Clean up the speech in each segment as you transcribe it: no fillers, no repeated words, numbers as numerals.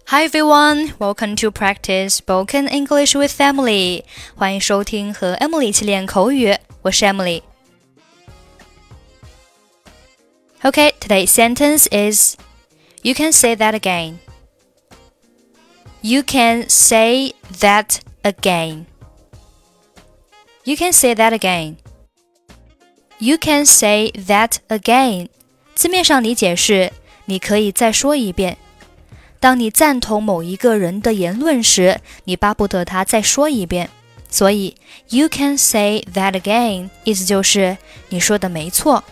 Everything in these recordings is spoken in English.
Hi everyone, welcome to practice spoken English with Emily. 欢迎收听和 Emily 一起练口语，我是 Emily. Okay, today's sentence is You can say that again. You can say that again. You can say that again. You can say that again. 字面上理解是你可以再说一遍。当你赞同某一个人的言论时，你巴不得他再说一遍。所以 You can say that again 意思就是你说的没错。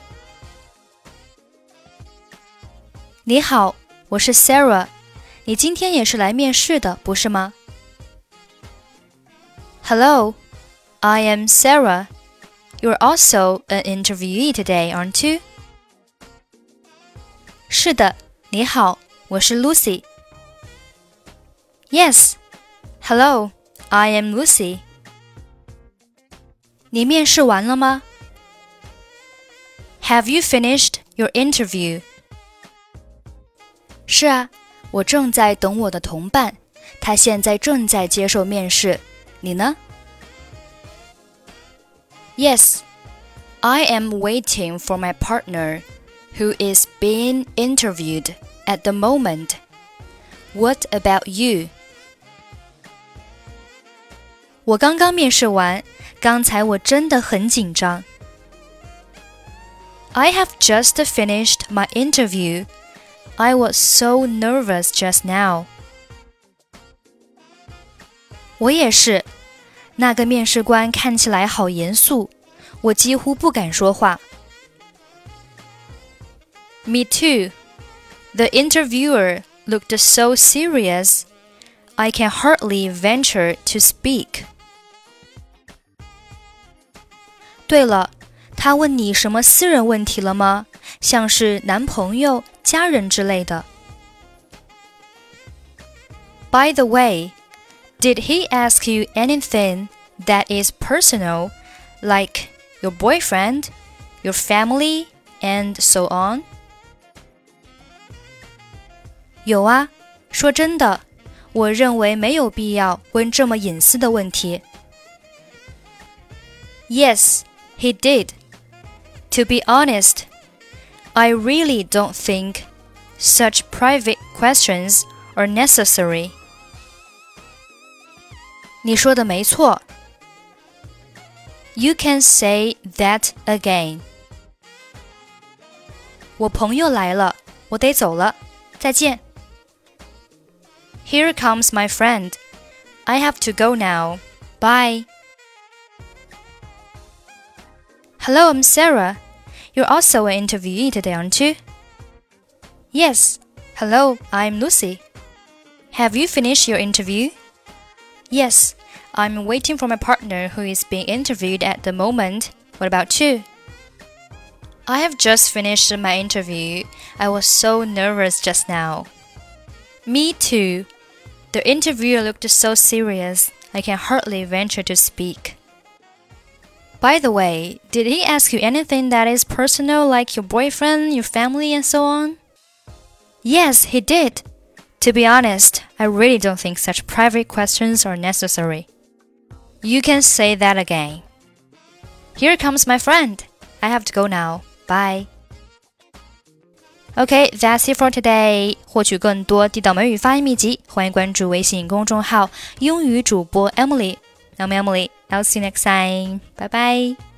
你好，我是 Sarah， 你今天也是来面试的，不是吗？ Hello, I am Sarah. You're also an interviewee today, aren't you? 是的，你好，我是 Lucy.Yes. Hello, I am Lucy. 你面试完了吗？ Have you finished your interview? 是啊，我正在等我的同伴，他现在正在接受面试。你呢？ Yes, I am waiting for my partner, who is being interviewed at the moment. What about you?我刚刚面试完，刚才我真的很紧张。I have just finished my interview. I was so nervous just now. 我也是，那个面试官看起来好严肃，我几乎不敢说话。Me too. The interviewer looked so serious. I can hardly venture to speak. 对了，他问你什么私人问题了吗？像是男朋友、家人之类的。By the way, did he ask you anything that is personal, like your boyfriend, your family, and so on? 有啊，说真的，我认为没有必要问这么隐私的问题。Yes, he did. To be honest, I really don't think such private questions are necessary. 你说的没错。You can say that again. 我朋友来了，我得走了，再见。Here comes my friend. I have to go now. Bye. Hello, I'm Sarah. You're also an interviewee today, aren't you? Yes. Hello, I'm Lucy. Have you finished your interview? Yes. I'm waiting for my partner who is being interviewed at the moment. What about you? I have just finished my interview. I was so nervous just now. Me too. The interviewer looked so serious, I can hardly venture to speak. By the way, did he ask you anything that is personal, like your boyfriend, your family, and so on? Yes, he did. To be honest, I really don't think such private questions are necessary. You can say that again. Here comes my friend. I have to go now. Bye. Okay, that's it for today. 获取更多地道美语发音秘籍，欢迎关注微信公众号英语主播 Emily. I'm Emily. I'll see you next time. Bye bye.